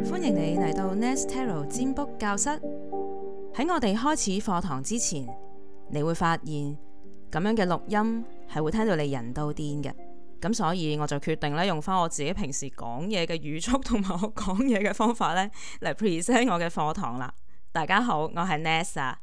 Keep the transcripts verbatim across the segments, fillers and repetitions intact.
歡迎你嚟到 Nest Tarot 占卜教室。喺我哋開始課堂之前，你會發現咁樣嘅錄音係會聽到你人都癲嘅。咁所以我就決定咧用翻我自己平時講嘢嘅語速同埋我講嘢嘅方法咧嚟 present 我嘅課堂啦。大家好，我係 Nest 啊。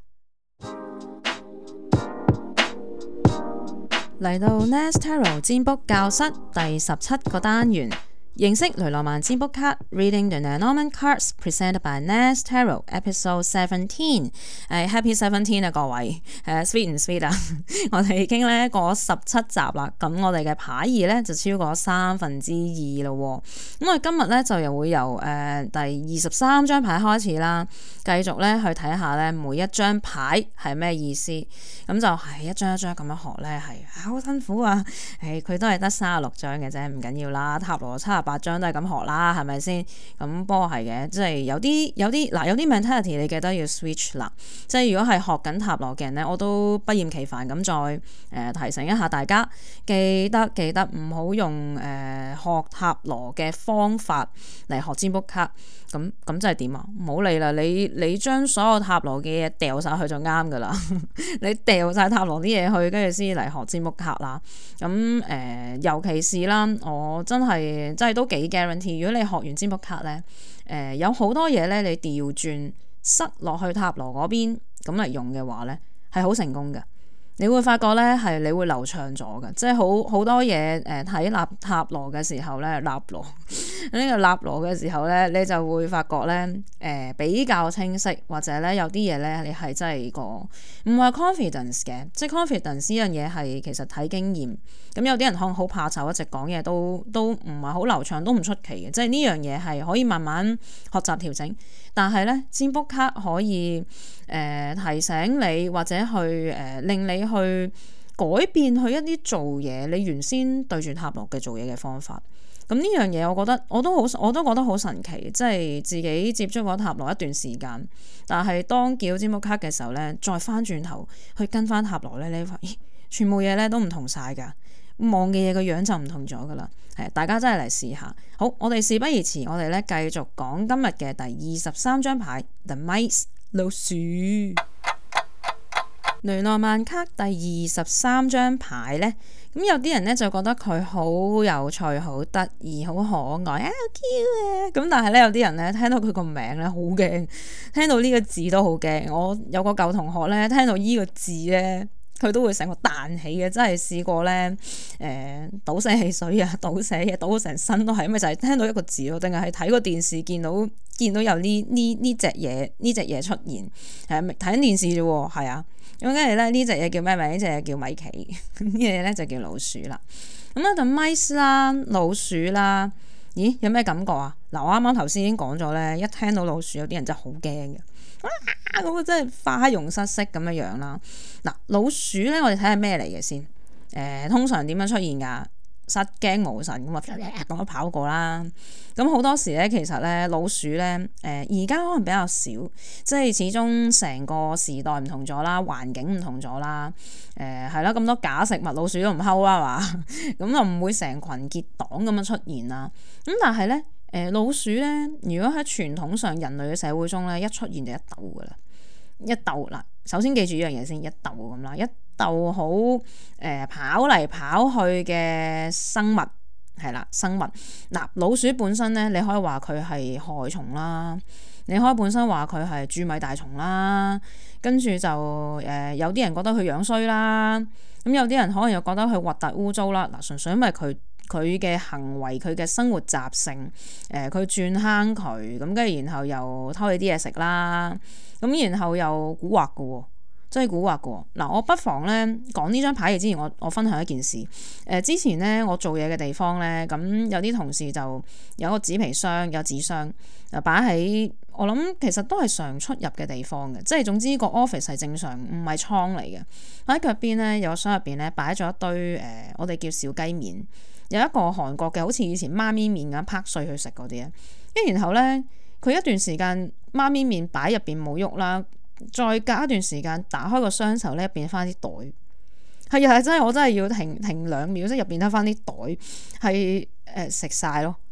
嚟到 Nest Tarot 占卜教室第十七個單元，認識雷諾曼占卜卡 Reading the Lenormand Cards Presented by Nest Tarot Episode Seventeen。誒 Happy Seventeen 啊各位，誒 Sweet 唔 Sweet 啊？我哋已經咧過十七集啦，咁我哋嘅牌意咧就超過三分之二咯。咁我哋今日咧就又會由誒、呃、第二十三張牌開始啦，繼續咧去睇下咧每一張牌係咩意思。咁就係一張一張咁樣學咧，係好辛苦啊！誒佢都係得三十六張嘅啫，唔緊要啦。塔羅七十八張都係咁學啦，係咪先？咁不過係嘅，即係有啲有啲嗱，有啲 mentality 你記得要 switch 啦。即係如果係學緊塔羅嘅人咧，我都不厭其煩咁再誒、呃、提醒一下大家，記得記得唔好用誒、呃、學塔羅嘅方法嚟學占卜卡。咁咁即係點啊？唔好理啦，你你將所有塔羅嘅嘢掉晒去就啱噶啦。你掉晒塔羅啲嘢去，跟住先嚟學占卜卡啦。咁誒、呃，尤其是啦，我真係真係都幾 guarantee。如果你學完占卜卡咧，誒、呃、有好多嘢咧，你調轉塞落去塔羅嗰邊咁嚟用嘅話咧，係好成功嘅。你會發覺咧係你會流暢咗嘅，即係好好多嘢誒睇納塔羅嘅時候咧，納羅呢個納羅嘅時候咧，你就會發覺咧誒、呃、比較清晰，或者咧有啲嘢咧你係真係個唔係 confidence 嘅，即係 confidence 呢樣嘢係其實睇經驗。咁有啲人可能好怕醜，一直講嘢都都唔係好流暢，都唔出奇嘅。即係呢樣嘢係可以慢慢學習調整。但係咧占卜卡可以誒、呃、提醒你，或者去誒、呃、令你去改變去一啲做嘢你原先對住塔羅嘅做嘢嘅方法。咁呢樣嘢我覺得我都好我都覺得好神奇，即係自己接觸過塔羅一段時間，但係當叫占卜卡嘅時候咧，再翻轉頭去跟翻塔羅咧，你發現咦全部嘢咧都唔同晒㗎。望嘅嘢個樣就唔同咗噶啦，係大家真係嚟試下。好，我哋事不宜遲，我哋咧繼續講今日嘅第二十三張牌 The Mice 老鼠。雷諾曼卡第二十三張牌咧，咁有啲人咧就覺得佢好有趣、好得意、好可愛啊，好 Q 啊！咁但係咧有啲人咧聽到佢個名咧好驚，聽到呢個字都好驚。我有個舊同學咧聽到呢個字咧，佢都會成個彈起嘅，真係試過咧，誒、呃、倒瀉汽水啊，倒瀉嘢倒到成身都係，因為就係聽到一個字咯，定係係睇個電視見到見到有呢呢呢隻嘢呢隻嘢出現，係睇緊電視啫喎，係啊，咁跟住咧呢隻嘢叫咩名？呢隻嘢叫米奇，呢隻嘢咧就叫老鼠啦。咁啊，就 mice 啦，老鼠啦，咦有咩感覺啊？嗱，我啱啱頭先已經講咗咧，一聽到老鼠有啲人真係好驚嘅。啊！嗰個真係花容失色咁樣樣啦。嗱，老鼠咧，我哋睇下咩嚟嘅先。誒、呃，通常點樣出現㗎？失驚無神咁啊，咁樣跑過啦。咁好多時咧，其實咧老鼠咧，誒而家可能比較少，即係始終成個時代唔同咗啦，環境唔同咗啦。誒係啦，咁多假食物，老鼠都唔睺啦嘛。咁就唔會成群結黨咁樣出現啦。咁但係咧。誒、呃、老鼠咧，如果喺傳統上人類嘅社會中咧，一出現就一竇噶啦，一竇嗱。首先記住呢樣嘢先，一竇咁啦，一竇好誒跑嚟跑去嘅生物係啦，生物嗱、呃、老鼠本身咧，你可以話佢係害蟲啦，你可以本身話佢係蛀米大蟲啦，跟住就誒、呃、有啲人覺得佢樣衰啦，咁有啲人可能又覺得佢核突污糟啦。嗱，純粹因為佢。佢嘅行為，佢嘅生活習性，誒佢鑽坑渠，咁跟住然後又偷你啲嘢食啦，咁然後又蠱惑嘅喎，真係蠱惑嘅喎。嗱，我不妨咧講呢張牌嘅之前，我我分享一件事。誒、呃、之前咧我做嘢嘅地方咧，咁有啲同事就有個紙皮箱，有紙箱，就擺喺我諗其實都係常出入嘅地方嘅，即係總之個 office 係正常，唔係倉嚟嘅。喺腳邊咧有個箱入邊咧擺咗一堆誒、呃，我哋叫小雞麵。有一個韓國嘅，好似以前媽咪麵咁拍碎去食嗰啲啊，跟住然後咧，佢一段時間媽咪麵擺入邊冇喐啦，再隔一段時間打開個箱時候咧，入邊翻啲袋，係啊，真係我真係要停停兩秒，即係入邊得翻啲袋，係誒食晒咯。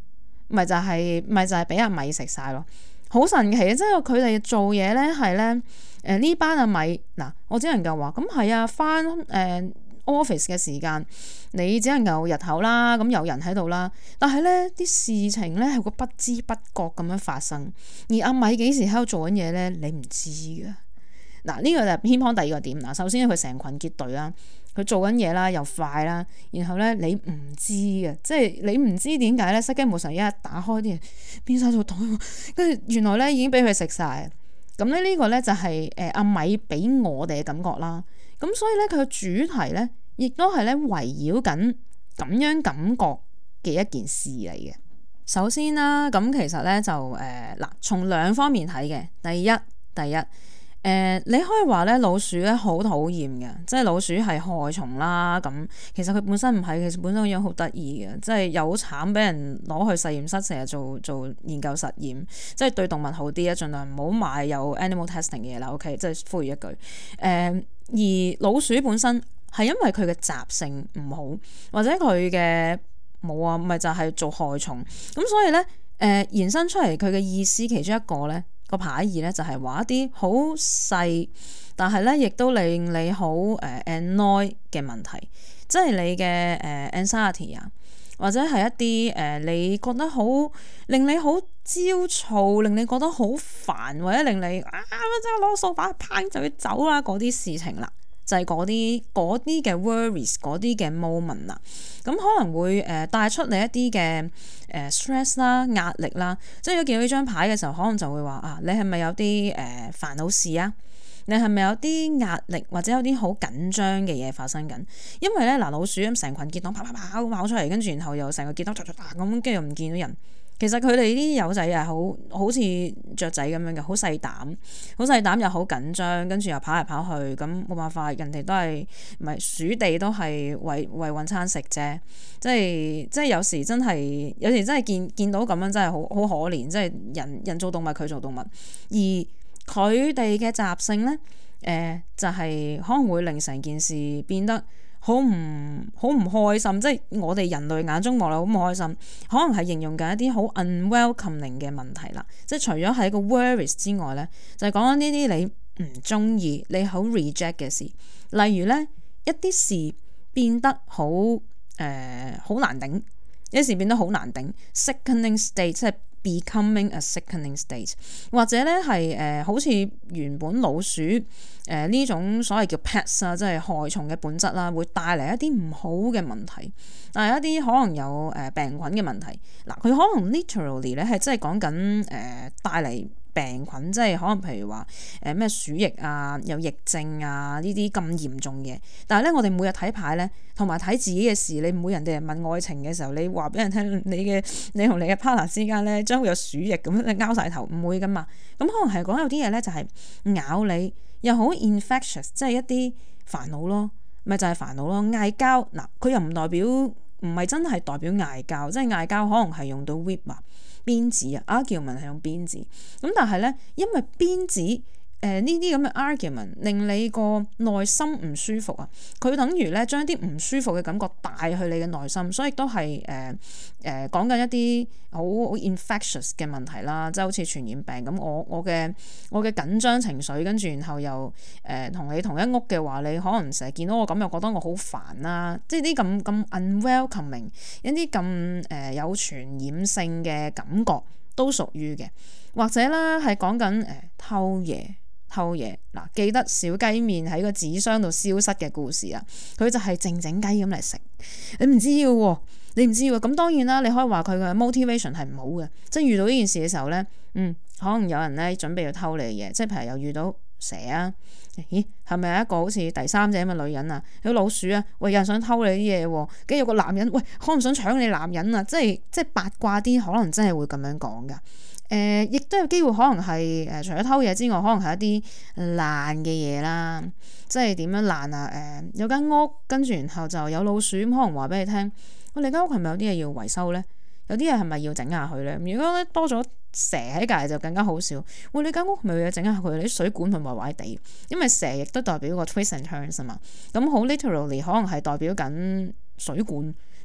咪就係、是、咪就係俾阿米食晒咯，好神奇嘅，即係佢哋做嘢咧係咧誒呢班阿米嗱，我只能夠話咁係啊，返誒。呃 office 嘅時間，你只能夠日頭啦，咁有人喺度啦。但係咧啲事情咧係會不知不覺咁樣發生，而阿米幾時喺度做緊嘢咧，你唔知㗎。嗱，呢個就係偏旁第二個點。嗱，首先佢成群結隊啦，佢做緊嘢啦，又快啦，然後咧你唔知嘅，即係你唔知點解咧，失驚無神一日打開啲嘢變晒做袋，跟住原來咧已經俾佢食晒。咁咧呢個咧就係誒阿米俾我哋嘅感覺啦。咁所以咧，佢嘅主題咧，亦都係咧圍繞緊咁樣感覺嘅一件事嚟嘅。首先啦，咁其實咧就誒嗱，從、呃、兩方面睇嘅。第一，第一誒、呃，你可以話咧老鼠咧好討厭嘅，即係老鼠係害蟲啦。咁其實佢本身唔係，其實本身個樣好得意嘅，即係又好慘，俾人攞去實驗室成日做做研究實驗，即係對動物好啲啊，盡量唔好買有 animal testing 嘅嘢啦。OK，即係呼籲一句誒。呃而老鼠本身係因為佢嘅習性唔好，或者佢嘅冇啊，咪就係、是、做害蟲咁，所以咧誒、呃、延伸出嚟佢嘅意思其中一個咧個牌意咧就係話一啲好細，但係咧亦都令你好誒 annoy 嘅問題，即係你嘅誒 anxiety 啊，或者係一啲誒、呃、你覺得好令你好焦躁，令你覺得好煩，或者令你啊即係攞掃把拚就要走啦嗰啲事情啦，就係嗰啲嗰啲嘅 worries 嗰啲嘅 moment 啦，咁可能會誒帶出你一啲嘅誒 stress 啦、壓力啦，即係如果見到呢張牌嘅時候，可能就會話啊，你係咪有啲誒煩惱事啊？你係咪有啲壓力或者有啲好緊張嘅嘢發生緊？因為咧嗱，老鼠咁成群結黨跑跑跑跑出嚟，跟住然後又成個結黨咁，跟住又唔見到人。其實佢哋啲友仔係好好似雀仔咁樣嘅，好細膽，好細膽又好緊張，跟住又跑嚟跑去，咁冇辦法，人哋都係唔係鼠地都係為為揾餐食啫。即係即係有時真係有時真係見見到咁樣真係好好可憐，即係人人做動物，佢做動物，而佢哋嘅習性咧，誒、呃、就係、是、可能會令成件事變得好唔好唔開心，即係我哋人類眼中望落好唔開心，可能係形容緊一啲好 unwelcoming 嘅問題啦。即係除咗係一個 worries 之外咧，就係講緊呢啲你唔中意、你好 reject 嘅事，例如咧一啲事變得好誒好難頂，一時變得好難頂 sickening state 即係。Becoming a sickening state， 或者咧係誒好似原本老鼠誒呢、呃、種所謂叫 pets 啊，即係害蟲嘅本質啦，會帶嚟一啲唔好嘅問題，但係一啲可能有誒、呃、病菌嘅問題。嗱，佢可能 literally 咧係真係講緊誒帶嚟病菌，即係可能譬如話誒咩鼠疫啊、有疫症啊呢啲咁嚴重嘅。但係咧，我哋每日睇牌咧，同埋睇自己嘅事，你唔會人哋問愛情嘅時候，你話俾人聽你嘅你同你嘅 partner 之間咧將會有鼠疫咁，你拗晒頭，唔會噶嘛。咁可能係講有啲嘢咧就係咬你，又好 infectious，即係一啲煩惱咯，咪就係煩惱咯。嗌交嗱，佢又唔代表唔係真係代表嗌交，即係嗌交可能係用到 whip 啊。鞭子啊 argument 係用鞭子，咁但係咧，因為鞭子誒呢啲咁嘅 argument 令你個內心唔舒服啊，佢等於咧將啲唔舒服嘅感覺帶去你嘅內心，所以都係誒誒講緊一啲好好 infectious 嘅問題啦，即係好似傳染病咁。我我嘅我嘅緊張情緒，跟住然後又誒同、呃、你同一屋嘅話，你可能成日見到我咁，又覺得我好煩啦，即係啲咁咁 unwelcoming 一啲咁誒有傳染性嘅感覺都屬於嘅，或者啦係講緊誒偷嘢。偷嘢嗱，記得小雞麵喺個紙箱度消失嘅故事啊！佢就係靜靜雞咁嚟食，你唔知嘅喎，你唔知喎。咁當然啦，你可以話佢嘅 motivation 係唔好嘅，即係遇到呢件事嘅時候咧，嗯，可能有人咧準備要偷你嘅嘢，即係譬如又遇到蛇啊，咦，係咪一個好似第三者咁嘅女人啊？有老鼠啊，喂，有人想偷你啲嘢喎，跟住有個男人，喂，可能想搶你男人啊，即係即係八卦啲，可能真係會咁樣講噶。誒、呃，亦都有機會可能係誒、呃，除咗偷嘢之外，可能係一啲爛嘅嘢啦，即係點樣爛啊？誒、呃，有間屋跟住然後就有老鼠，可能話俾你聽，喂，你間屋係咪有啲嘢要維修咧？有啲嘢係咪要整下佢咧？如果咧多咗蛇喺隔籬就更加好笑。喂，你間屋係咪要整下佢？你啲水管係咪壞壞地？因為蛇亦都代表個 twist and turns 啊嘛。咁好 literally 可能係代表緊水管。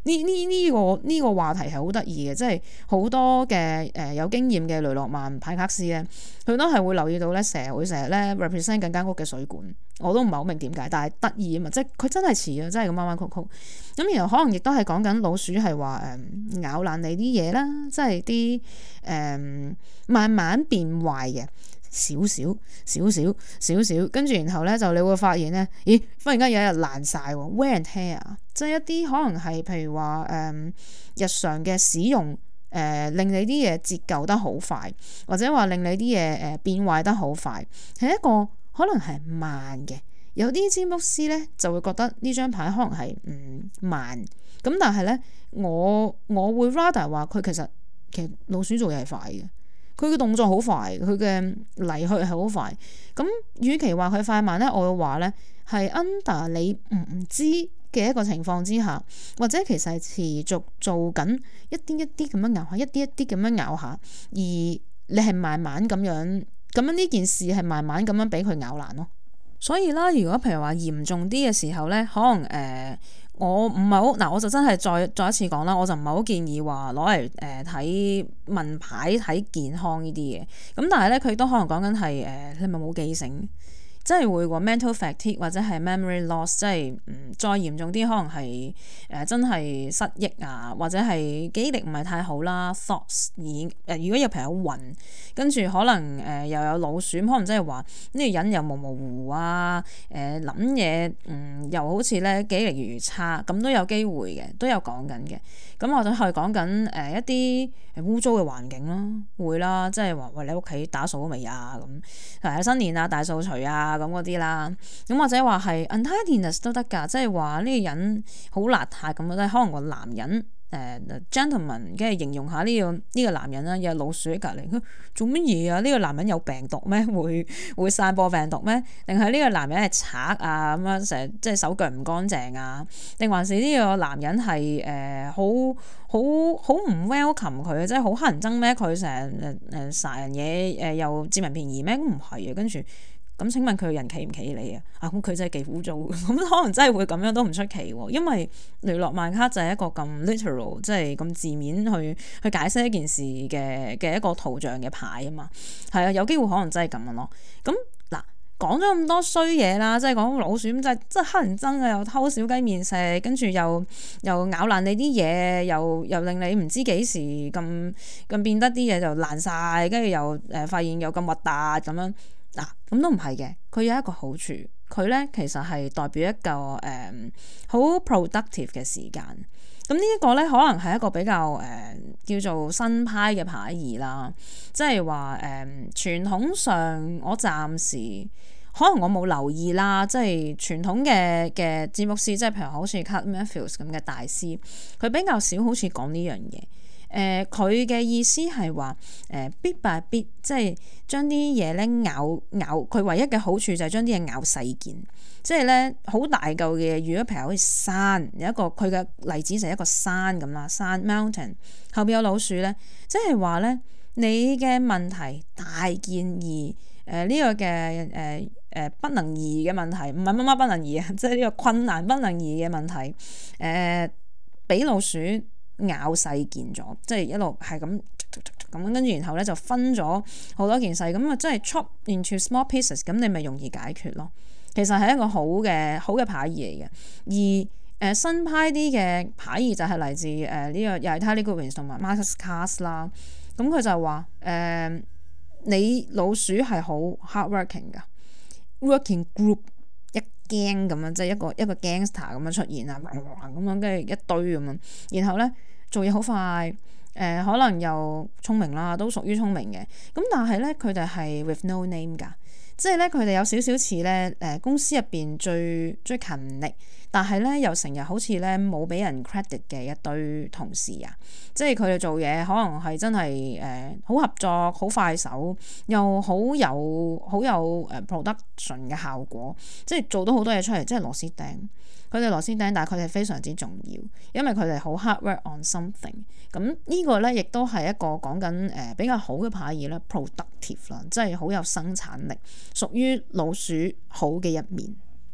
呢呢呢個呢、呢個話題係好得意嘅，即係好多嘅誒、呃、有經驗嘅雷諾曼派克斯咧，佢都係會留意到咧，成日會成日咧 represent 緊間屋嘅水管，我都唔係好明點解，但係得意啊嘛，即係佢真係似啊，真係咁彎彎曲曲。咁然後可能亦都係講緊老鼠係話誒咬爛你啲嘢啦，即係啲誒慢慢變壞嘅。少少少少少少，跟住然後咧就你會發現咧，咦，忽然間有一日爛晒喎 wear and tear 啊，即係一啲可能係譬如話誒、嗯、日常嘅使用誒、呃、令你啲嘢折舊得好快，或者話令你啲嘢誒變壞得好快，係一個可能係慢嘅。有啲占卜師咧就會覺得呢張牌可能係唔慢，咁但係咧我我會 rather 話佢其實其實老鼠做嘢係快嘅。佢嘅動作好快，佢嘅嚟去係好快。咁，與其話佢快慢咧，我會話咧係 under 你唔知嘅一個情況之下，或者其實係持續做緊一啲一啲咁樣咬下，一啲一啲咁樣咬下，而你係慢慢咁樣咁樣呢件事係慢慢咁樣俾佢咬爛咯。所以啦，如果譬如話嚴重啲嘅時候咧，可能誒。呃我唔係好嗱，我就真係再再一次講啦，我就唔係好建議話攞嚟誒睇問牌睇健康呢啲嘢。咁但係咧，佢都可能講緊係誒你咪冇記性，即係會話 mental fatigue 或者係 memory loss，即係嗯再嚴重啲可能係誒、呃、真係失憶啊，或者係記憶力唔係太好啦 thoughts 而誒、呃、如果有朋友暈，跟住可能誒、呃、又有老鼠，可能即係話呢個人又模模糊糊啊，誒諗嘢嗯又好似咧記憶力越嚟越差，咁都有機會嘅，都有講緊嘅。咁或者係講緊誒一啲污糟嘅環境咯，會啦，即係話喂你屋企打掃咗未啊咁，誒新年啊大掃除啊咁嗰啲啦，咁或者話係 untidiness 都得㗎，即係話呢個人好邋遢咁樣，可能個男人。誒、uh, gentleman， 跟住形容下呢、這個呢、這個男人啦，有老鼠喺隔離，佢做乜嘢啊？呢、這個男人有病毒咩？會會散播病毒咩？定係呢個男人係賊啊？咁樣成日即係手腳唔乾淨啊？定還是呢個男人係誒好好好唔 welcome 佢，即係好乞人憎咩？佢成日誒誒殺人嘢誒、呃、又佔人便宜咩？唔係啊，跟住。咁請問佢人企唔企你啊？啊咁佢真係幾污糟，咁可能真係會咁樣都唔出奇喎。因為雷諾曼卡就係一個咁 literal，即係咁字面去去解釋一件事嘅嘅一個圖像嘅牌啊嘛。係啊，有機會可能真係咁樣咯。咁嗱講咗咁多衰嘢啦，即係講老鼠咁就係真係乞人憎啊，又偷小雞麵食，跟住又又咬爛你啲嘢，又又令你唔知幾時咁咁變得啲嘢就爛晒，跟住又誒發現又咁核突咁樣。嗱，咁都唔係嘅，佢有一個好處，佢咧其實係代表一個誒好、嗯、productive 嘅時間。咁呢一個咧，可能係一個比較誒、呃、叫做新派嘅牌意啦，即係話誒傳統上我暫時可能我冇留意啦，即係傳統嘅嘅占卜師，即係譬如好似 Cut Matthews 咁嘅大師，佢比較少好似講呢樣嘢。誒佢嘅意思係話誒 bit by bit，即係將啲嘢咧咬咬，佢唯一嘅好處就係將啲嘢咬細件，即係咧好大嚿嘅嘢。如果譬如好似山，有一個佢嘅例子就係一個山咁啦，山 mountain 後邊有老鼠咧，即係話咧你嘅問題大件而誒呢、呃這個嘅誒誒不能移嘅問題，唔係乜乜不能移啊，即係呢個困難不能移嘅問題誒，俾、呃、老鼠咬細件咗，即係一路係咁咁，跟住然後咧就分咗好多件細，咁啊即係 chop into small pieces，咁你咪容易解決咯。其實係一個好嘅好嘅牌意嚟嘅。而誒、呃、新派啲嘅牌意就係嚟自誒呢、呃這個又係 Tally Goodwin 同埋 Marcus Cast 啦。咁佢就話誒、呃、你老鼠係好 hardworking 噶 ，working group 一驚咁樣，即係一個一個 gangster 咁樣出現啊，咁樣跟住一堆咁樣，然後咧。做嘢好快，誒、呃、可能又聰明啦，都屬於聰明嘅。咁但係咧，佢哋係 with no name 㗎，即係咧佢哋有少少似咧誒公司入邊最最勤力，但係咧又成日好似咧冇俾人 credit 嘅一堆同事啊。即係佢哋做嘢可能係真係誒好合作、好快手，又好有好有誒 production 嘅效果，即係做到好多嘢出嚟，即係螺絲釘。佢哋螺絲釘，但係佢哋非常之重要，因為佢哋好 hard work on something。咁呢個咧，亦都係一個講緊誒比較好嘅牌意啦 productive 啦，即係好有生產力，屬於老鼠好嘅一面。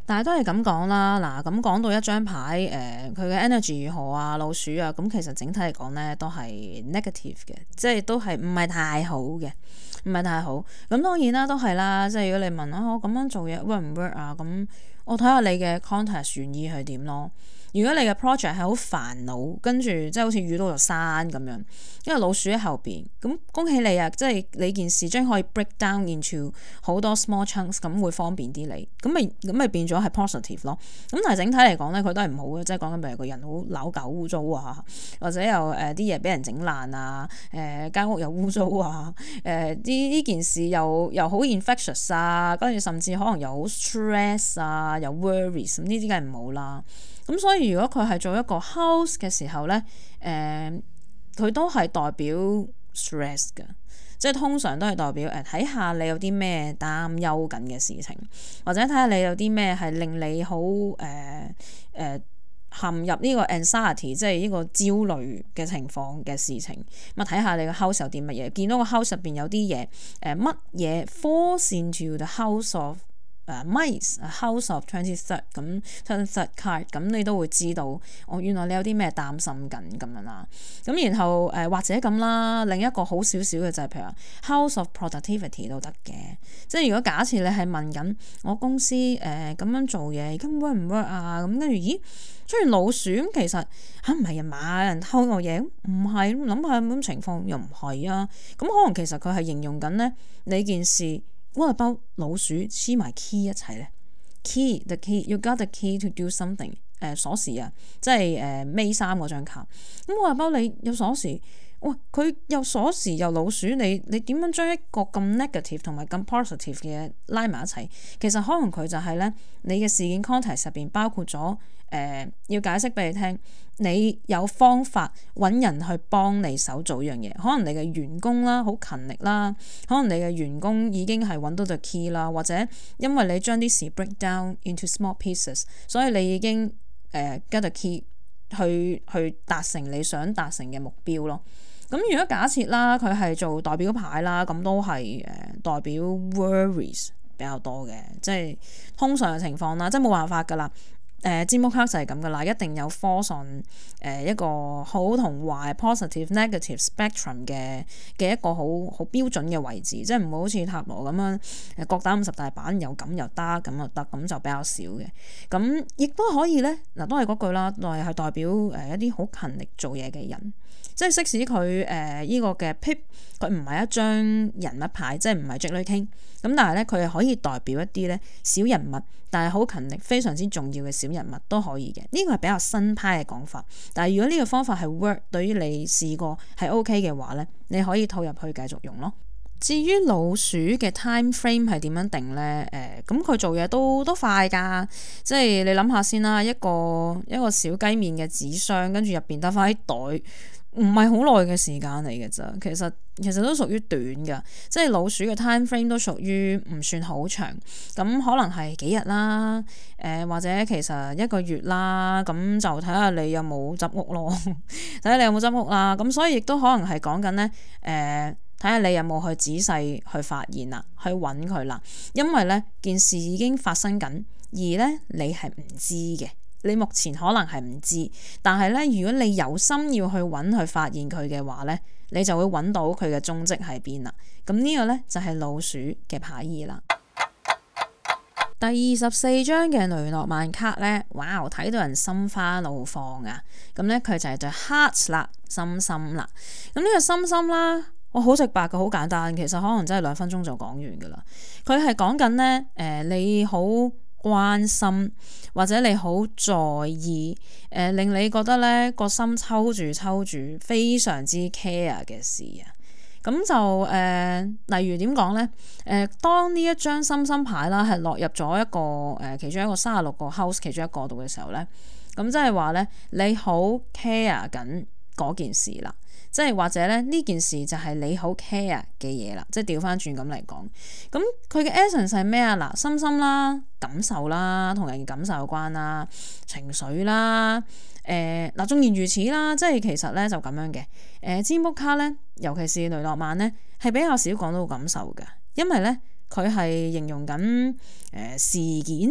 但係都係咁講啦，嗱咁講到一張牌，誒佢嘅 energy 如何啊，老鼠啊，咁其實整體嚟講咧都係 negative 嘅，即係都係唔係太好嘅，唔係太好。咁當然啦，都係啦，即係如果你問啊，我咁樣做嘢 work 唔 work 啊，咁我睇下你嘅 context 原意係點咯。如果你嘅 project 係好煩惱，跟住即係好似遇到座山咁樣，因為老鼠喺後邊，咁恭喜你啊！即係你件事將可以 break down into 好多 small chunks，咁會方便啲你，咁咪咁咪變咗係 positive 咯。咁但係整體嚟講咧，佢都係唔好嘅，即係講緊譬如個人好扭舊污糟啊，或者又誒啲嘢俾人整爛啊，誒間屋又污糟啊，誒呢呢件事又又好 infectious 啊，跟住甚至可能又好 stress 啊，又 worries，咁呢啲梗係唔好啦。咁所以如果佢係做一個 house 嘅時候咧，誒、呃、佢都係代表 stress 嘅，即係通常都係代表誒睇下你有啲咩擔憂緊嘅事情，或者睇下你有啲咩係令你好誒誒陷入呢個 anxiety，即係呢個焦慮嘅情況嘅事情。咁啊睇下你個 house 有啲乜嘢，見到個 house 入邊有啲嘢誒乜嘢 falls into the house of Uh, mice house of twenty third 咁 twenty third card， 咁你都會知道哦，原來你有啲咩擔心緊咁樣啦。咁然後誒、呃、或者咁啦，另一個好少少嘅就係譬如話 house of productivity 都得嘅。即係如果假設你係問緊我公司誒咁、呃、樣做嘢，咁 work 唔 work 啊？咁跟住咦出現老鼠咁，其實嚇唔係啊嘛，有人偷我嘢唔係，諗下咁情況又唔係啊。咁可能其實佢係形容緊咧你件事。What about 老鼠黐埋 key 一齊咧 ？Key the key you got the key to do something、呃。誒鎖匙啊，即係誒尾三嗰張卡。咁我話包你有鎖匙，哇！佢有鎖匙又老鼠，你你點樣將一個咁 negative 同埋咁 positive 嘅嘢拉埋一齊？其實可能佢就係咧，你嘅事件 context 入邊包括咗誒、呃，要解釋俾你聽。你有方法揾人去幫你手做一樣嘢，可能你嘅員工啦好勤力啦，可能你嘅員工已經係揾到 the key 啦，或者因為你將啲事 break down into small pieces，所以你已經誒、呃、get the key 去去達成你想達成嘅目標咯。咁如果假設啦，佢係做代表牌啦，咁都係誒代表 worries 比較多嘅，即係通常嘅情況啦，即係冇辦法噶啦。誒占卜卡就係咁噶啦，一定有 falls on 誒一個好同壞 positive negative spectrum 嘅嘅一個好好標準嘅位置，即係唔好好似塔羅咁樣誒各打五十大板，又咁又得咁又得，咁就比較少嘅。咁亦都可以咧，嗱都係嗰句啦，係係代表誒一啲好勤力做嘢嘅人，即係即使佢誒依個嘅 pip 佢唔係一張人物牌，即係唔係 Jack 女 King，咁但係咧佢係可以代表一啲咧小人物，但係好勤力非常之重要嘅小人物都可以嘅。呢個係比較新派嘅講法，但係如果呢個方法係 work， 對於你試過係 OK 嘅話咧，你可以套入去繼續用咯。至於老鼠嘅 time frame 係點樣定咧？誒、呃，咁佢做嘢都都快㗎，即係你諗下先啦，一個一個小雞麵嘅紙箱，跟住入邊得翻啲袋。唔係好耐嘅時間嚟嘅咋，其實其實都屬於短㗎，即係老鼠嘅 time frame 都屬於唔算好長，咁可能係幾日啦，誒、呃、或者其實一個月啦，咁就睇下你有冇執屋咯，睇下你有冇執屋啦，咁所以亦都可能係講緊咧，誒、呃。睇下你有冇去仔細去發現啦，去揾佢啦，因為咧件事已經發生緊，而咧你係唔知嘅，你目前可能係唔知，但係咧如果你有心要去揾去發現佢嘅話咧，你就會揾到佢嘅蹤跡喺邊啦。咁呢個咧就係老鼠嘅牌意啦。第二十四張嘅雷諾曼卡咧，哇！睇到人心花怒放啊！咁咧佢就係對 heart 啦，心心啦。咁呢個心心啦。我好直白嘅，好簡單，其實可能真係兩分鐘就講完噶啦。佢係講緊咧，誒、呃，你好關心或者你好在意，誒、呃，令你覺得咧個心抽住抽住，非常之 care 嘅事啊。咁就誒、呃，例如點講咧？誒、呃，當呢一張心心牌啦，係落入咗一個誒、呃，其中一個三十六個 house 其中一個度嘅時候咧，咁即係話咧，你好 care 緊嗰件事啦。即係或者咧呢件事就係你好 care 嘅嘢啦，即係調翻轉咁嚟講，咁佢嘅 essence 係咩啊？嗱，心心啦，感受啦，同人嘅感受有關啦，情緒啦，誒、呃、嗱，縱然如此啦，即係其實咧就咁樣嘅，誒占卜卡咧，尤其是雷諾曼咧，係比較少講到感受嘅，因為咧佢係形容緊誒、呃、事件。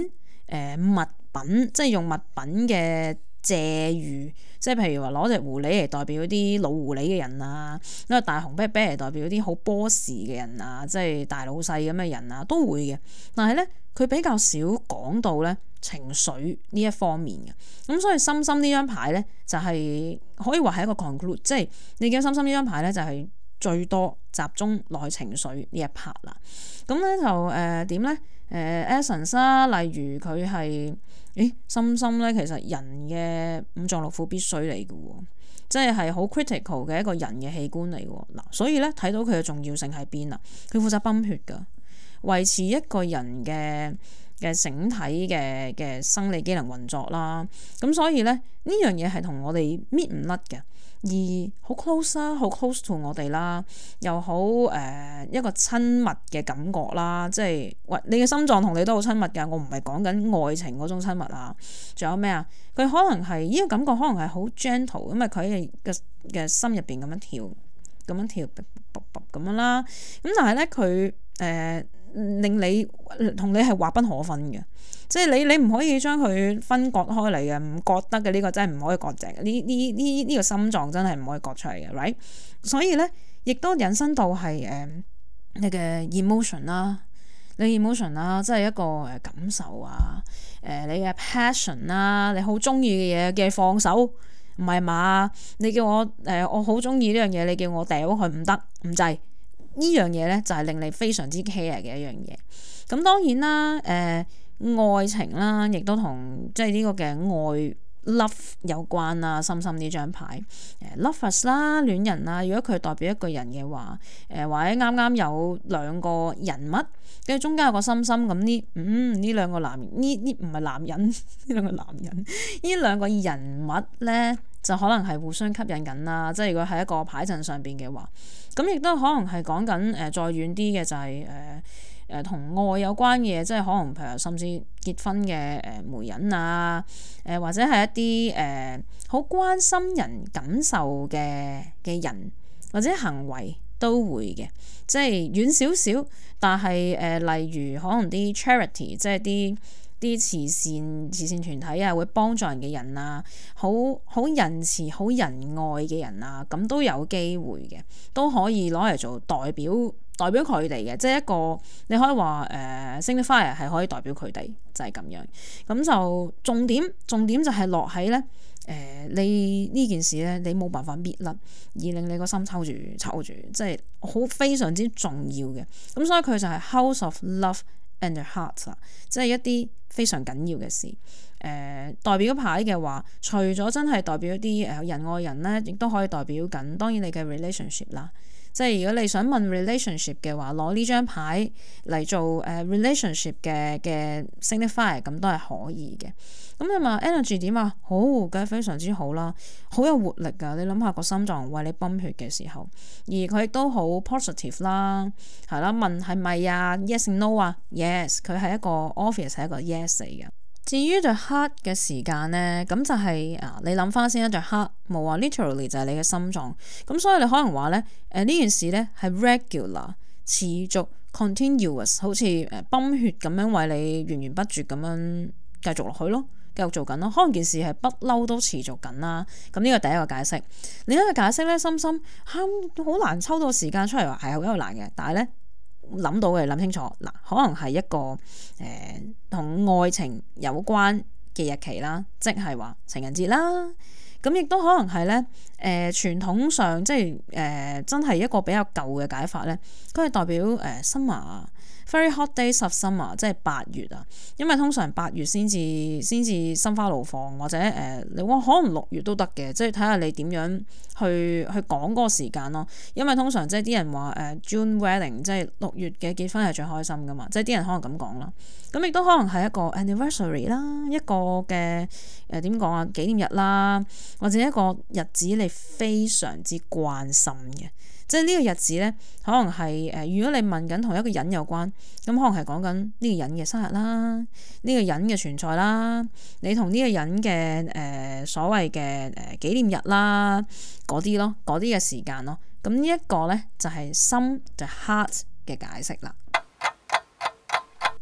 誒物品，即係用物品嘅借喻，即係譬如話攞隻狐狸嚟代表啲老狐狸嘅人啊，攞個大紅啤啤嚟代表啲好 boss 嘅人啊，即係大老細咁嘅人啊，都會嘅。但係咧，佢比較少講到咧情緒呢一方面嘅。咁所以心心呢張牌咧，就係可以話係一個 conclude，即係你見心心呢張牌咧，就係最多集中落去情緒呢一 part 啦。咁咧就誒點咧？誒 essence 啦，例如佢係，誒心心咧，其實人嘅五臟六腑必須嚟嘅喎，即係係好 critical 嘅一個人嘅器官嚟喎。嗱，所以咧睇到佢嘅重要性喺邊啊？佢負責泵血㗎，維持一個人嘅嘅整體嘅嘅生理機能運作啦。咁所以咧呢樣嘢係同我哋搣唔甩嘅。而好 close 啦，好 close to 我哋啦，又好誒、呃、一個親密嘅感覺啦，即係喂你嘅心臟同你都好親密㗎，我唔係講緊愛情嗰種親密啊，仲有咩啊？佢可能係呢個感覺，可能係好 gentle，因為佢嘅嘅心入邊咁樣跳，咁樣跳，卜卜咁樣啦。咁但係咧佢誒令你同你係劃不可分嘅。即係你你唔可以將佢分割開嚟嘅，唔割得嘅，呢個真係唔可以割淨嘅。呢呢呢呢個心臟真係唔可以割出嚟嘅 ，right？ 所以咧，亦都引申到係誒你嘅 emotion 啦，你 emotion 啦，即係一個誒感受啊，誒你嘅 passion 啦，你好中意嘅嘢嘅放手，唔係嘛？你叫我誒我好中意呢樣嘢，你叫我掉佢唔得唔制，呢樣嘢咧就係令你非常之 care 嘅一樣嘢。咁當然啦，誒、呃。愛情啦，亦都同即係呢個嘅愛 love 有關啦。深深呢張牌誒 lovers 啦，戀人啦。如果佢代表一個人嘅話，誒或者啱啱有兩個人物，跟住中間有個心心咁呢，嗯呢兩個男呢呢唔係男人，呢兩個男人，呢兩個人物咧就可能係互相吸引緊啦。即係如果喺一個牌陣上邊嘅話，咁亦都可能係講緊誒再遠啲嘅就係、是、誒。呃誒同愛有關嘅嘢，即係可能譬如甚至結婚嘅誒媒人啊，誒或者係一啲誒好關心人感受嘅嘅人或者行為都會嘅，即係遠少少，但係誒、呃、例如可能啲 charity，即係啲啲慈善慈善團體啊，會幫助人嘅人啊，好好仁慈、好仁愛嘅人啊，咁都有機會嘅，都可以攞嚟做代表。代表佢哋嘅，即係一個你可以話誒 signifier 係可以代表佢哋，就係、是、咁樣。咁就重點重點就係落喺咧誒，你呢件事咧，你冇辦法搣甩，而令你個心抽住抽住，即係好非常之重要嘅。咁所以佢就係 House of Love and the Heart 啦，即係一啲非常緊要嘅事。誒、呃、代表牌嘅話，除咗真係代表一啲誒人愛人咧，亦都可以代表緊當然你嘅 relationship 啦。即係如果你想問 relationship 嘅話，攞呢張牌嚟做誒 relationship 嘅嘅 signifier，咁都係可以嘅。咁你話 energy 點啊？好，梗係非常之好啦，好有活力㗎。你諗下個心臟為你泵血嘅時候，而佢亦都好 positive 啦，係啦。問係咪啊 ？Yes no 啊 ？Yes，佢係一個 obvious 係一個 yes 嚟嘅。至於對 heart 嘅時間咧，咁就係、是、啊，你諗翻先一對 heart 冇話 literally 就係你嘅心臟，咁所以你可能話咧，誒呢件事咧係 regular 持續 continuous， 好似誒泵血咁樣為你源源不絕咁樣繼續落去咯，繼續做緊咯，可能件事係不嬲都持續緊啦。咁呢個第一個解釋，另一個解釋咧，深深嚇好難抽到時間出嚟話係好有難嘅，但係咧。諗到嘅諗清楚嗱，可能係一個誒同、呃、愛情有關嘅日期啦，即係話情人節啦。咁亦都可能係咧誒傳統上即係誒、呃、真係一個比較舊嘅解法咧，佢係代表誒、呃、summer very hot days of summer，即係八月啊。因為通常八月先至先至心花怒放，或者誒、呃、你話可能六月都得嘅，即係睇下你點樣去去講嗰個時間咯。因為通常即係啲人話誒、呃、June wedding，即係六月嘅結婚係最開心噶嘛，即係啲人可能咁講啦。咁亦都可能係一個 anniversary 啦，一個嘅誒點講啊紀念日啦，或者一個日子你非常之關心嘅。即係呢個日子咧，可能係誒、呃，如果你問緊同一個人有關，咁可能係講緊呢個人嘅生日啦，呢、這個人嘅存在啦，你同呢個人嘅誒、呃、所謂嘅誒紀念日啦，嗰啲咯，嗰啲嘅時間咯，咁呢一個咧就係心 the heart 嘅解釋啦。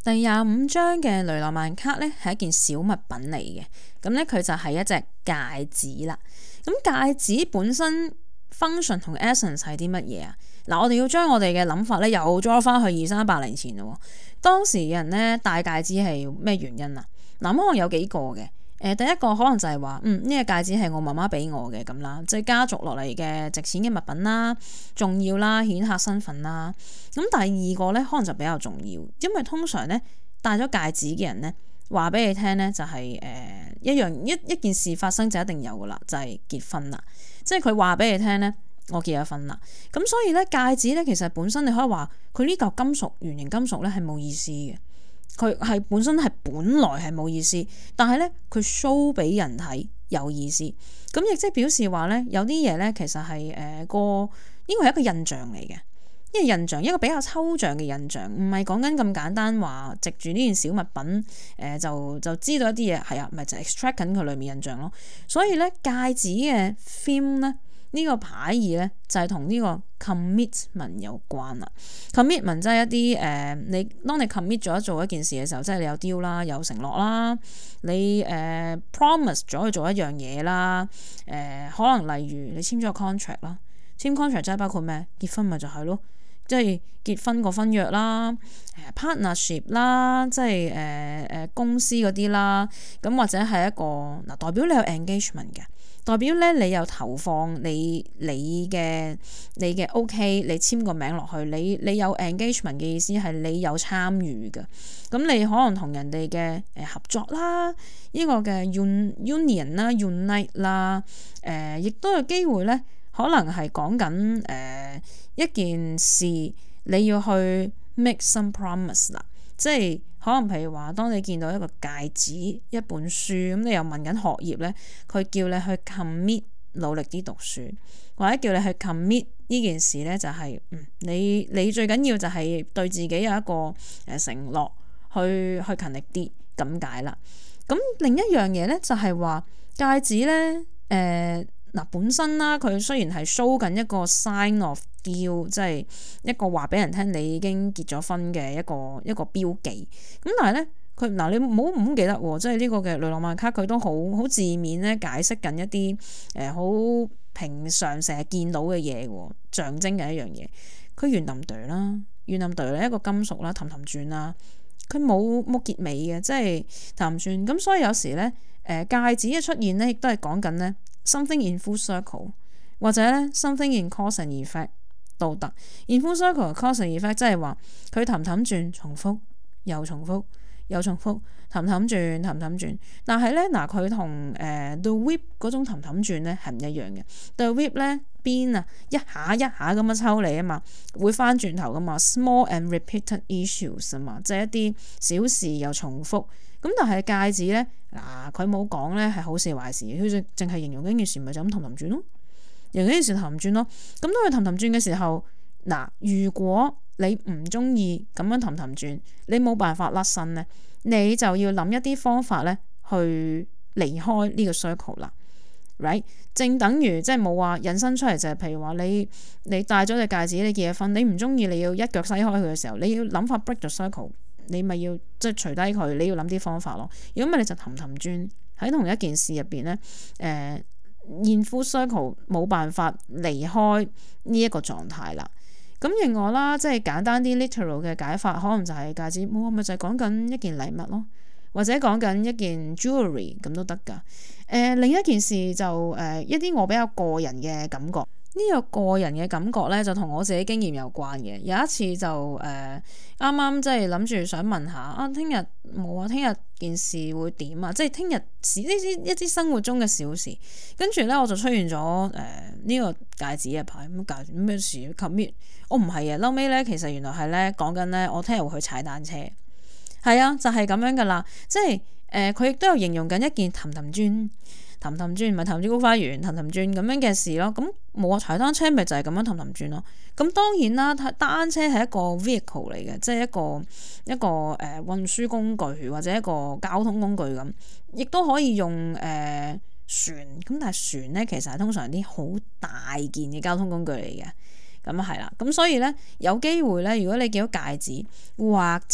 第廿五張嘅雷諾曼卡咧係一件小物品嚟嘅，咁咧佢就係一隻戒指啦。咁戒指本身 function 同 essence 係啲乜嘢啊？嗱，我哋要將我哋嘅諗法咧又裝翻去二三百年前咯。當時人咧戴戒指係咩原因啊？嗱，可能有幾個嘅。誒，第一個可能就係話，嗯，呢個戒指係我媽媽俾我嘅咁啦，即係家族落嚟嘅值錢嘅物品啦，重要啦，顯赫身份啦。咁第二個咧，可能就比較重要，因為通常咧戴咗戒指嘅人咧，話俾你聽咧就係誒一樣一一件事發生就一定有噶啦，就係結婚啦。即係佢話俾你聽咧，我結咗婚啦。咁所以咧戒指咧，其實本身你可以話佢呢嚿金屬圓形金屬咧係冇意思嘅。佢係本身係本來係冇意思，但係咧佢 show 俾人睇有意思，咁亦即係表示話咧有啲嘢咧其實係誒個呢個係一個印象嚟嘅，一個印象一個比較抽象嘅印象，唔係講緊咁簡單話藉住呢件小物品誒、呃、就就知道一啲嘢係啊，咪就 extract 緊佢裏面印象咯。所以咧戒指嘅 theme 咧。呢個牌意咧就係同呢個 commitment 有關啦。commitment 即係一啲誒、呃，你當你 commit 咗做一件事嘅時候，即係你有 deal 啦，有承諾啦，你誒、呃、promise 咗去做一樣嘢啦。誒、呃、可能例如你簽咗個 contract 啦，簽 contract 即係包括咩？結婚咪就係咯，即係結婚個婚約啦，誒 partnership 啦，即係誒誒公司嗰啲啦。咁或者係一個嗱，代表你有 engagement 嘅。代表咧，你有投放你你嘅你嘅 OK，你簽個名落去，你你有 engagement 嘅意思係你有參與嘅。咁你可能同人哋嘅誒合作啦，呢、這個嘅 union 啦、unite 啦，誒亦都有機會咧，可能係講緊誒一件事你要去 make some promise 啦，即係。可能譬如話，當你見到一個戒指、一本書，咁你又問緊學業咧，佢叫你去 commit 努力啲讀書，或者叫你去 commit 呢件事咧，就係、是、嗯，你你最緊要就係對自己有一個誒承諾，去去勤力啲咁解啦。咁另一樣嘢咧，就係話戒指咧，誒、呃。嗱，本身啦，佢雖然係 show 緊一個 sign of deal，即係一個話俾人聽你已經結咗婚嘅一個一個標記。咁但係咧，佢嗱你唔好唔好記得喎，即係呢個嘅雷諾曼卡佢都好好字面咧解釋緊一啲誒好平常成日見到嘅嘢喎，象徵嘅一樣嘢。佢圓冧對啦，圓冧對咧一個金屬啦，氹氹轉啦，佢冇冇結尾嘅，即係氹轉。咁所以有時咧，誒戒指嘅出現咧，亦都係講緊咧。something in full circle 或者咧 something in cause and effect 都得。in full circle cause and effect 即係話佢氹氹轉重複又重複又重複氹氹轉氹氹轉，但係咧嗱佢同誒 the whip 嗰種氹氹轉咧係唔一樣嘅。the whip 咧邊啊一下一下咁樣抽你啊嘛，會翻轉頭噶嘛 small and repeated issues 啊嘛，即係一啲小事又重複。咁但係戒指咧嗱，佢冇講咧係好事壞事，佢淨淨係形容緊件事，咪就咁氹氹轉咯，形容緊件事氹氹轉咯。咁當佢氹氹轉嘅時候，嗱，如果你唔中意咁樣氹氹轉，你冇辦法甩身咧，你就要諗一啲方法咧去離開呢個 circle 啦。right， 正等於即係冇話引申出嚟就係、是，譬如話你你戴咗隻戒指，你結咗婚，你唔中意，你要一腳篩開佢嘅時候，你要諗法 break the circle。你咪要即係除低佢，你要諗啲方法咯。如果唔係你就氹氹轉喺同一件事入邊咧，誒 in full circle 冇辦法離開呢一個狀態啦。咁另外啦，即係簡單啲 literal 嘅解法，可能就係戒指，冇咪就係講緊一件禮物咯，或者講緊一件 jewelry 咁都得㗎。誒、呃、另一件事就誒、呃、一啲我比較個人嘅感覺。呢個個人嘅感覺咧，就同我自己經驗有關嘅。有一次就誒啱啱即係諗住想問下啊，聽日冇啊，聽日件事會點啊？即係聽日事呢啲一啲生活中嘅小事，跟住咧我就出現咗誒呢個戒指嘅牌，咁戒指咩事 commit？ 我唔係啊，後尾咧其實原來係咧講緊咧，我聽日會去踩單車，係啊，就係、是、咁樣噶啦。即係誒佢亦都有形容緊一件氹氹轉。氹氹轉唔係氹轉菊花園，氹氹轉咁樣嘅事咯。咁冇啊，踩單車咪就係咁樣氹氹轉咯。咁當然啦，單車係一個 vehicle 嚟嘅，即係一個一個誒、呃、運輸工具或者一個交通工具咁，亦都可以用誒、呃、船。咁但係船咧，其實係通常啲好大件嘅交通工具嚟嘅。咁啊係啦，咁所以咧有機會咧，如果你見到戒指或者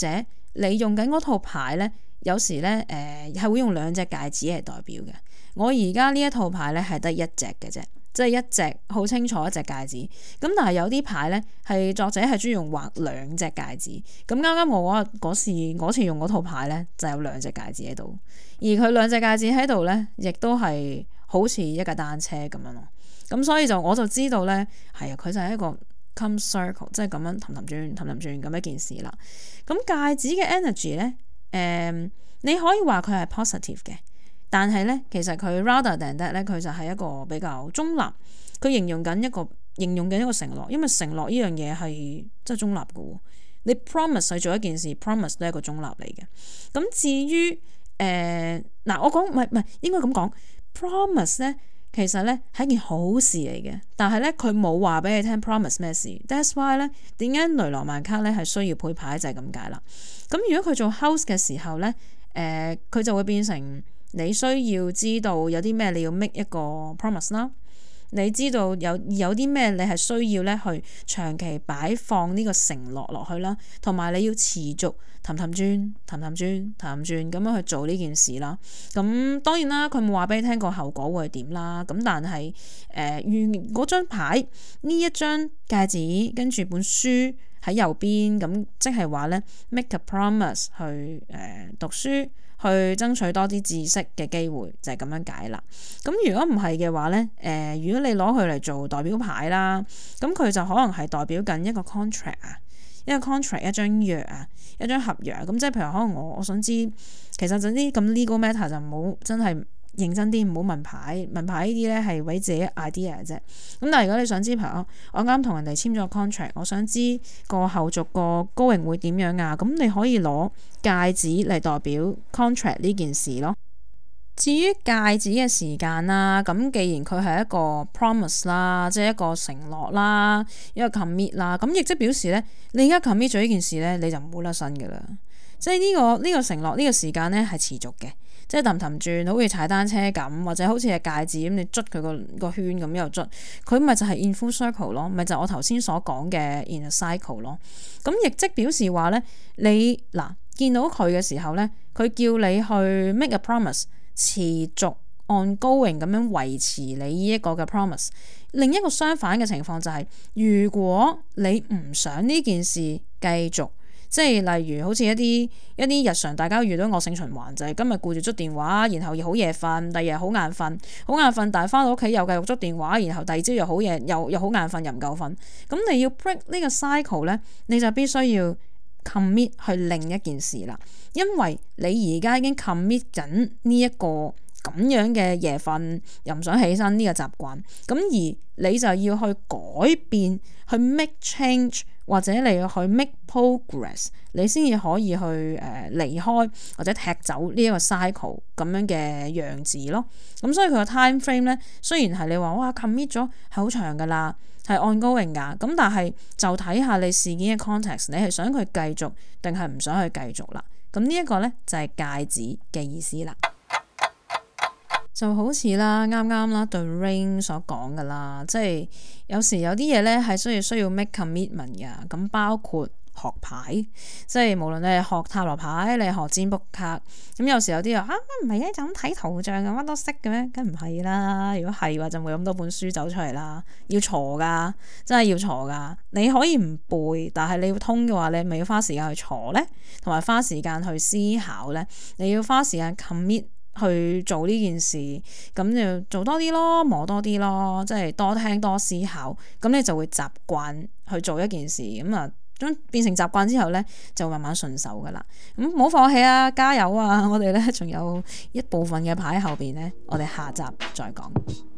你用緊嗰套牌咧，有時咧誒係會用兩隻戒指嚟代表嘅。我而家呢一套牌咧係得一隻嘅啫，即係一隻好清楚一隻戒指。咁但係有啲牌咧係作者係中意用畫兩隻戒指。咁啱啱我嗰嗰時嗰次用嗰套牌咧就有兩隻戒指喺度，而佢兩隻戒指喺度咧，亦都係好似一架單車咁樣咯。咁所以就我就知道咧，係啊，佢就係一個 come circle， 即係咁樣氹氹轉氹氹轉咁一件事啦。咁戒指嘅 energy 咧，誒、呃、你可以話佢係 positive 嘅。但係咧，其實佢 rather than that 咧，佢就係一個比較中立。佢形容緊一個形容緊一個承諾，因為承諾呢樣嘢係即係中立嘅喎。你 promise 去做一件事，promise 都係一個中立嚟嘅。咁至於誒嗱、呃，我講唔係唔係應該咁講 promise 咧，其實咧係一件好事嚟嘅。但係咧佢冇話俾你聽 promise 咩事。That's why 咧點解雷諾曼卡咧係需要配牌就係咁解啦。咁如果佢做 house 嘅時候咧，誒、呃、佢就會變成。你需要知道有啲咩你要 make 一個 promise 啦，你知道有有啲咩你係需要咧去長期擺放呢個承諾落去啦，同埋你要持續氹氹轉、氹氹轉、氹氹轉咁樣去做呢件事啦。咁當然啦，佢冇話俾你聽個後果會係點啦。咁但係誒，如嗰張牌呢一張戒指跟住本書喺右邊，咁即係話咧 make a promise 去誒、呃、讀書。去爭取多啲知識嘅機會就係、是、咁樣解啦。咁如果唔係嘅話咧，誒、呃、如果你攞佢嚟做代表牌啦，咁佢就可能係代表緊一個 contract 啊，一個 contract 一張約啊，一張合約。咁即係譬如可能我我想知，其實就啲咁 legal matter 就唔好真係認真啲，唔好問牌。問牌呢啲咧係為自己 idea 啫。咁但係如果你想知，譬如我啱同人哋簽咗 contract， 我想知個後續個 going 會點樣啊？咁你可以攞戒指嚟代表 contract 呢件事咯。至於戒指嘅時間啦，咁既然佢係一個 promise 啦，即係一個承諾啦，一個 commit 啦，咁亦即表示咧，你而家 commit 咗呢件事咧，你就唔會甩身噶啦。即係呢個呢個承諾呢個時間咧係持續嘅。即係氹氹轉，好似踩單車咁，或者好似係戒指咁，你捽佢個個圈咁又捽，佢咪就係 in full circle 咯，咪就係我頭先所講嘅 in a cycle 咯。咁亦即表示話咧，你嗱見到佢嘅時候咧，佢叫你去 make a promise， 持續 ongoing 咁樣維持你呢一個嘅 promise。另一個相反嘅情況就係，如果你唔想呢件事繼續。即係例如好似一啲一啲日常大家遇到惡性循環，就係、是、今日顧住捽電話，然後又好夜瞓，第二日好眼瞓，好眼瞓，但係翻到屋企又繼續捽電話，然後第二朝又好夜，又又好眼瞓，又唔夠瞓。咁你要 break 呢個 cycle 咧，你就必須要 commit 去另一件事啦，因為你而家已經 commit 緊呢一個咁樣嘅夜瞓又唔想起身呢個習慣，咁而你就要去改變，去 make change。或者你要去 make progress， 你先至可以去誒、呃、離開或者踢走呢一個 cycle 咁樣嘅樣子咯。咁所以佢個 time frame 咧，雖然係你話哇 commit 咗係好長噶啦，係 ongoing 噶，咁但係就睇下你事件嘅 context， 你係想佢繼續定係唔想去繼續啦。咁呢一個咧就係戒指嘅意思啦。就好似啦，啱啱啦對 Ring 所講噶啦，即係有時有啲嘢咧係需要需要 make commitment 噶，咁包括學牌，即係無論你係學塔羅牌，你係學占卜卡，咁有時有啲人啊唔係啊，就咁睇圖像嘅乜都識嘅咩？梗唔係啦，如果係話就冇咁多本書走出嚟啦，要鋤噶，真係要鋤噶。你可以唔背，但係你要通嘅話，你咪要花時間去鋤咧，同埋花時間去思考咧，你要花時間 commit。去做呢件事，咁就做多啲咯，摸多啲咯，即係多聽多思考，咁你就會習慣去做一件事，咁啊，咁變成習慣之後咧，就慢慢順手噶啦。咁唔好放棄啊，加油啊！我哋咧仲有一部分嘅牌後邊咧，我哋下集再講。